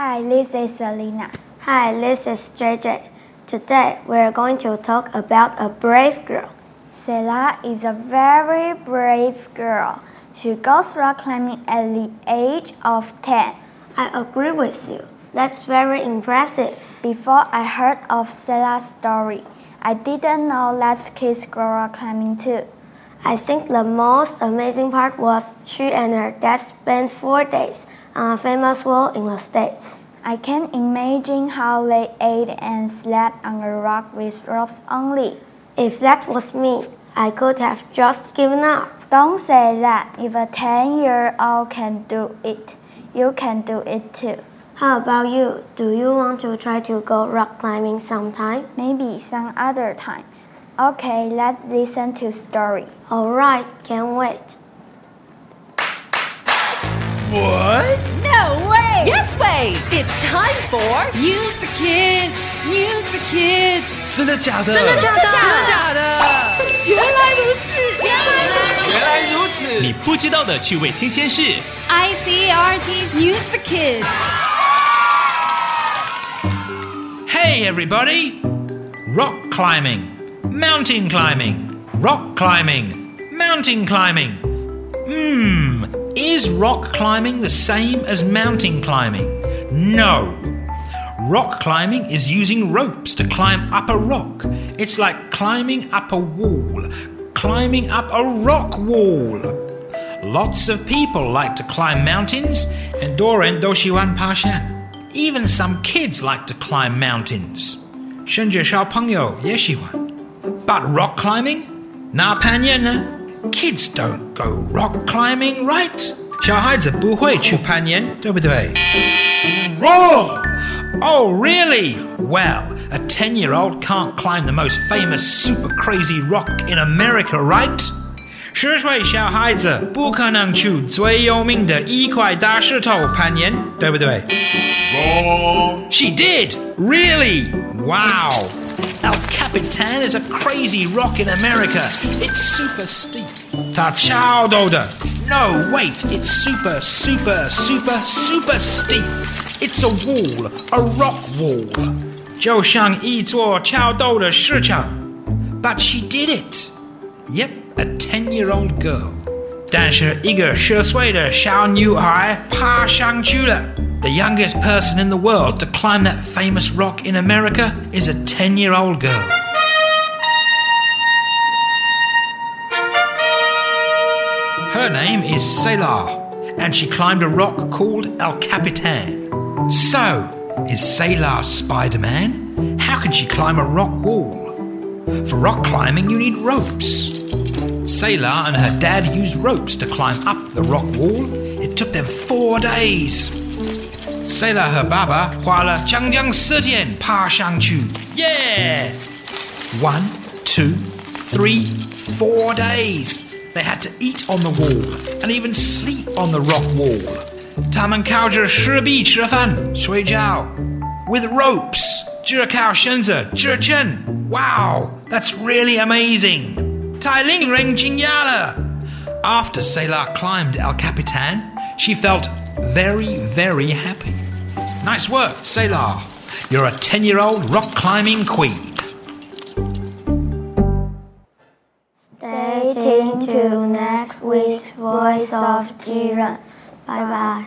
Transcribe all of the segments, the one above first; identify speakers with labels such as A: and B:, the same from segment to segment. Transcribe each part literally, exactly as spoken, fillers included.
A: Hi, this is Selena.
B: Hi, this is J J. Today, we're going to talk about a brave girl.
A: Selah is a very brave girl. She goes rock climbing at the age of ten.
B: I agree with you. That's very impressive.
A: Before I heard of Selah's story, I didn't know that kids go rock climbing too.
B: I think the most amazing part was she and her dad spent four days on a famous wall in the States.
A: I can imagine how they ate and slept on a rock with ropes only.
B: If that was me, I could have just given up.
A: Don't say that. If a ten-year-old can do it, you can do it too.
B: How about you? Do you want to try to go rock climbing sometime?
A: Maybe some other time. Okay, let's listen to story.
B: Alright, can't wait.
C: What?
D: No way!
E: Yes way! It's time for News for Kids! News for Kids!
C: 真的假的？
E: 真的假的？
D: 真的假的？
E: 原来如此！原来如此！
C: 原来如此！
F: 你不知道的趣味新鲜事。
E: I C R T's News for Kids!
C: Hey everybody! Rock climbing, mountain climbing, rock climbing, mountain climbing. Hmm, is rock climbing the same as mountain climbing? No. Rock climbing is using ropes to climb up a rock. It's like climbing up a wall, climbing up a rock wall. Lots of people like to climb mountains, and 多人都喜欢爬山. Even some kids like to climb mountains. 甚至小朋友也喜欢. But rock climbing? 那攀岩呢? Kids don't go rock climbing, right? 小孩子不会去攀岩，对不对? Wrong! Oh, really? Well, a ten-year-old can't climb the most famous super crazy rock in America, right? 十岁小孩子不可能去最有名的一塊大石頭攀岩，對不對? Wrong! She did! Really? Wow! El Capitan is a crazy rock in America. It's super steep. 它超陡的. No, wait, it's super, super, super, super steep. It's a wall, a rock wall. 就像一座超陡的石墙. But she did it. Yep, a ten-year-old girl. 但是一个十岁的小女孩爬上去了. The youngest person in the world to climb that famous rock in America is a ten-year-old girl. Her name is Selah, and she climbed a rock called El Capitan. So, is Selah Spider-Man? How can she climb a rock wall? For rock climbing, you need ropes. Selah and her dad used ropes to climb up the rock wall. It took them four days. Selah 和爸爸花了将将四天爬上去. Yeah! One, two, three, four days. They had to eat on the wall and even sleep on the rock wall. 他们靠着石壁吃飯睡覺 with ropes. 只靠繩子支撐. Wow, that's really amazing. 太令人驚訝了. After Selah climbed El Capitan, she felt very, very happy. Nice work, Selah. You're a ten-year-old rock climbing queen.
B: Stay tuned to next week's Voice of Jiren. Bye bye.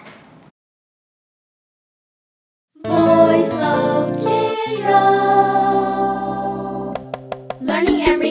D: Voice of Jiren. Learning every